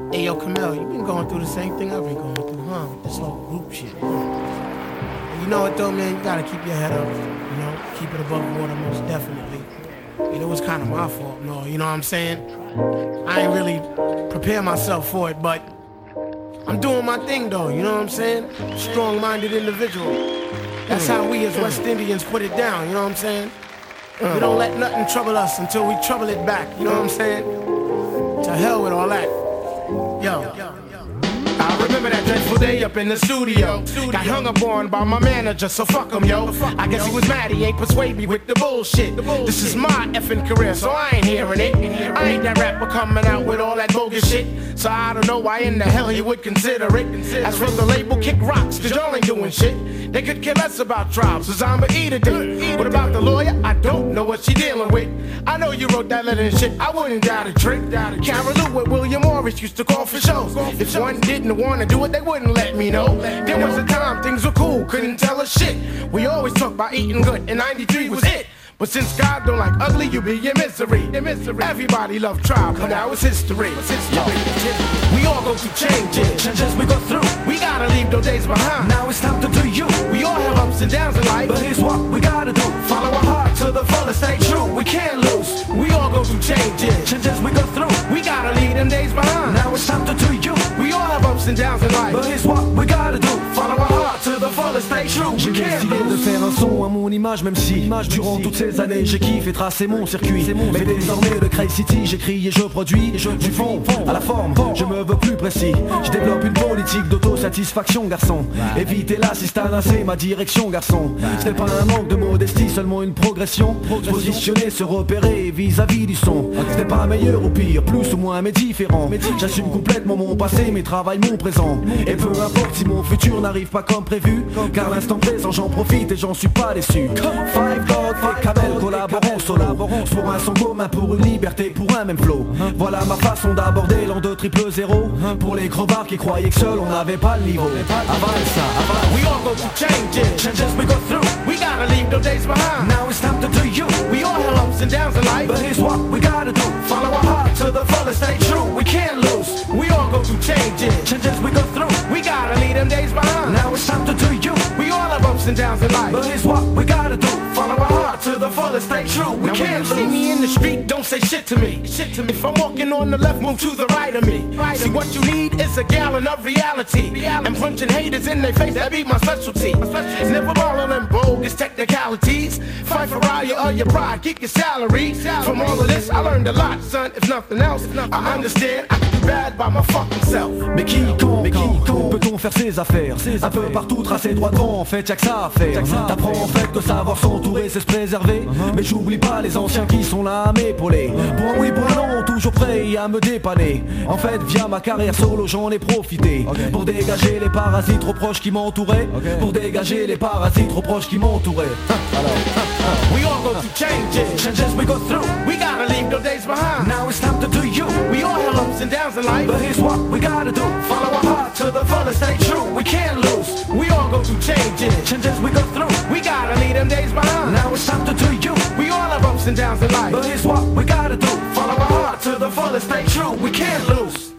Hey, yo, Camille, you been going through the same thing I've been going through, huh? With this whole group shit. You know what, though, man? You gotta keep your head up, you know? Keep it above water, most definitely. It was kind of my fault, no, you know what I'm saying? I ain't really prepare myself for it, but I'm doing my thing, though, you know what I'm saying? Strong-minded individual. That's how we as West Indians put it down, you know what I'm saying? We don't let nothing trouble us until we trouble it back, you know what I'm saying? To hell with all that. Yo. I remember that dreadful day up in the studio. Got hung up on by my manager, so fuck him, yo. I guess he was mad, he ain't persuade me with the bullshit. This is my effing career, so I ain't hearing it. I ain't that rapper coming out with all that bogus shit. So I don't know why in the hell he would consider it. As for the label, kick rocks, cause y'all ain't doing shit. They could care less about tribes, cause I'm a eater dude. What about the lawyer? I don't know what she dealing with. I know you wrote that letter and shit, I wouldn't doubt a trick. Carol Lou with William Morris used to call for shows. If one didn't wanna do it, they wouldn't let me know. There was a time things were cool, couldn't tell us shit. We always talk about eating good, and 93 was it. But since God don't like ugly, you be in misery. Everybody love tribe, but now it's history. We all go through changes we go through. We gotta leave those days behind. Now it's time to do you. We all have ups and downs in life, but here's what we gotta do. Follow our heart to the fullest, stay true. We can't lose. We all go through changes we go through. We gotta leave them days behind. Now it's time to do you. We all have ups and downs in life, but here's what we gotta do. Follow our heart to the fullest, stay true. J'ai décidé de faire un son à mon image, même si durant toutes ces années j'ai kiffé tracer mon circuit. Mais désormais de Cray City j'écris et je produis du fond à la forme, je me veux plus précis. Je développe une politique d'autosatisfaction, garçon. Éviter l'assistanat, c'est ma direction, garçon. Ce n'est pas un manque de modestie, seulement une progression. Se positionner, se repérer vis-à-vis du son. Ce n'est pas meilleur ou pire, plus ou moins mais différent. J'assume complètement mon passé, mes travails, mon présent. Et peu importe si mon futur n'arrive pas comme prévu, car l'instant présent j'en profite et j'en suis pas déçu. Five Dog et Kamel collaborons solo pour un son commun, pour une liberté, pour un même flow. Voilà ma façon d'aborder l'an 2 triple 0. Pour les crevards qui croyaient que seul on n'avait pas le niveau. Avale ça, avale. We all go through changes we go through. We gotta leave those days behind. Now it's time to do you. We all have ups and downs in life, but here's what we gotta do. Follow our heart to the fullest, stay true. We can't lose. We all go through changes we go through. We gotta leave them days behind. Now it's time to do you. We all have ups and downs in life, but here's what we gotta do. Follow our heart to the fullest, stay true. We can't lose. See me in the street, don't say shit to me. If I'm walking on the left, move to the right of me. See what you need is a gallon of reality. And punching haters in their face, that be my specialty. Never ballin' in bogus technicalities. Fight for all your pride, keep your salary. From all of this, I learned a lot, son. If nothing else, I understand I can do bad by my fucking self. Mais qui peut-on faire ses affaires? Un peu partout tracé droit devant, en fait y'a que ça à faire. T'apprends en fait que savoir s'entourer c'est se préserver. Mais j'oublie pas les anciens qui sont là à m'épauler. Pour un oui, pour un non, toujours prêt à me dépanner. En fait via ma carrière solo j'en ai profité pour dégager les parasites trop proches qui m'entouraient. Pour dégager les parasites trop proches qui m'entouraient. We all go through changes we go through. We gotta leave those days behind. Now it's time to do you. We all have ups and downs in life, but here's what we gotta do. Follow our heart to the fullest, stay true. We can't lose. We all go through changes we go through. We gotta leave them days behind. Now it's time to do you. We all have ups and downs in life, but here's what we gotta do. Follow our heart to the fullest, stay true. We can't lose.